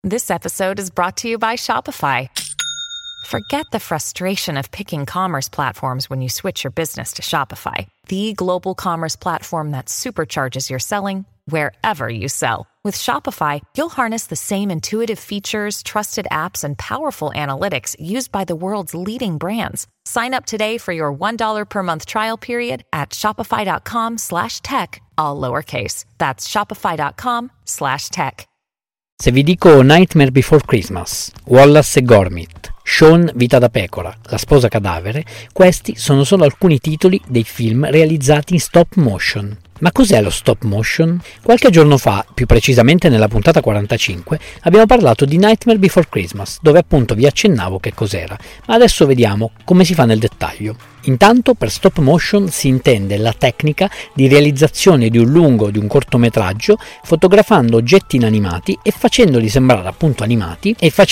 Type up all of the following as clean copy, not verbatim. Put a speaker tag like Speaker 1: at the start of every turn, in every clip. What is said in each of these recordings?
Speaker 1: This episode is brought to you by Shopify. Forget the frustration of picking commerce platforms when you switch your business to Shopify, the global commerce platform that supercharges your selling wherever you sell. With Shopify, you'll harness the same intuitive features, trusted apps, and powerful analytics used by the world's leading brands. Sign up today for your $1 per month trial period at shopify.com/tech, all lowercase. That's shopify.com/tech.
Speaker 2: Se vi dico Nightmare Before Christmas, Wallace e Gromit, Shaun Vita da pecora, La sposa cadavere, questi sono solo alcuni titoli dei film realizzati in stop motion. Ma cos'è lo stop motion? Qualche giorno fa, più precisamente nella puntata 45, abbiamo parlato di Nightmare Before Christmas, dove appunto vi accennavo che cos'era, ma adesso vediamo come si fa nel dettaglio. Intanto per stop motion si intende la tecnica di realizzazione di un lungo o di un cortometraggio fotografando oggetti inanimati e facendoli sembrare appunto animati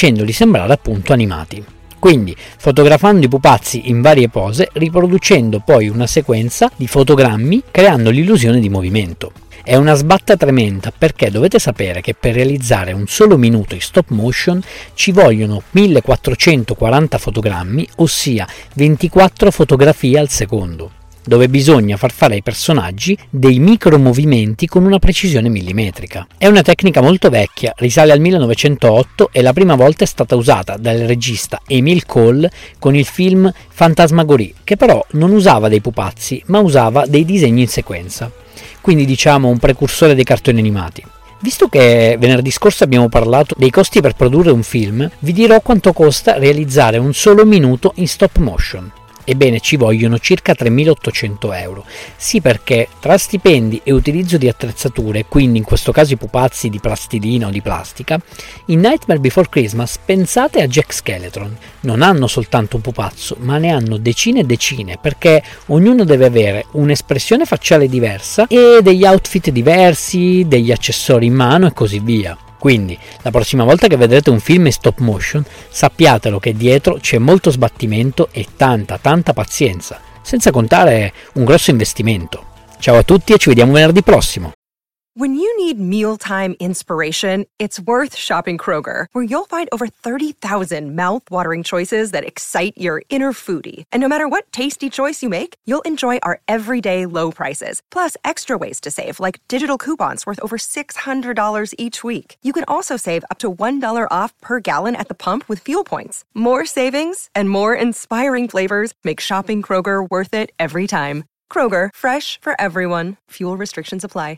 Speaker 2: Quindi, fotografando i pupazzi in varie pose, riproducendo poi una sequenza di fotogrammi, creando l'illusione di movimento. È una sbatta tremenda perché dovete sapere che per realizzare un solo minuto in stop motion ci vogliono 1440 fotogrammi, ossia 24 fotografie al secondo, dove bisogna far fare ai personaggi dei micromovimenti con una precisione millimetrica. È una tecnica molto vecchia, risale al 1908 e la prima volta è stata usata dal regista Emile Cole con il film Fantasmagorie, che però non usava dei pupazzi, ma usava dei disegni in sequenza. Quindi diciamo un precursore dei cartoni animati. Visto che venerdì scorso abbiamo parlato dei costi per produrre un film, vi dirò quanto costa realizzare un solo minuto in stop motion. Ebbene, ci vogliono circa 3.800 euro. Sì, perché tra stipendi e utilizzo di attrezzature, quindi in questo caso i pupazzi di plastilina o di plastica, in Nightmare Before Christmas pensate a Jack Skellington. Non hanno soltanto un pupazzo, ma ne hanno decine e decine, perché ognuno deve avere un'espressione facciale diversa e degli outfit diversi, degli accessori in mano e così via. Quindi, la prossima volta che vedrete un film in stop motion, sappiatelo che dietro c'è molto sbattimento e tanta pazienza, senza contare un grosso investimento. Ciao a tutti e ci vediamo venerdì prossimo!
Speaker 3: When you need mealtime inspiration, it's worth shopping Kroger, where you'll find over 30,000 mouth-watering choices that excite your inner foodie. And no matter what tasty choice you make, you'll enjoy our everyday low prices, plus extra ways to save, like digital coupons worth over $600 each week. You can also save up to $1 off per gallon at the pump with fuel points. More savings and more inspiring flavors make shopping Kroger worth it every time. Kroger, fresh for everyone. Fuel restrictions apply.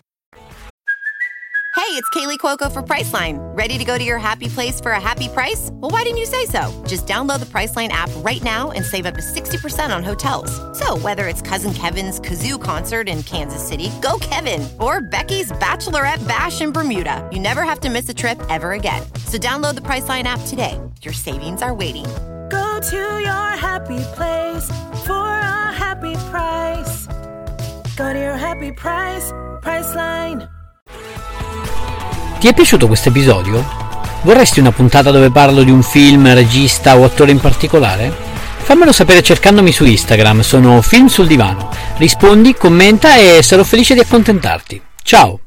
Speaker 4: Hey, it's Kaylee Cuoco for Priceline. Ready to go to your happy place for a happy price? Well, why didn't you say so? Just download the Priceline app right now and save up to 60% on hotels. So whether it's Cousin Kevin's Kazoo Concert in Kansas City, go Kevin, or Becky's Bachelorette Bash in Bermuda, you never have to miss a trip ever again. So download the Priceline app today. Your savings are waiting.
Speaker 5: Go to your happy place for a happy price. Go to your happy price, Priceline.
Speaker 2: Ti è piaciuto questo episodio? Vorresti una puntata dove parlo di un film, regista o attore in particolare? Fammelo sapere cercandomi su Instagram, sono Film sul Divano. Rispondi, commenta e sarò felice di accontentarti. Ciao!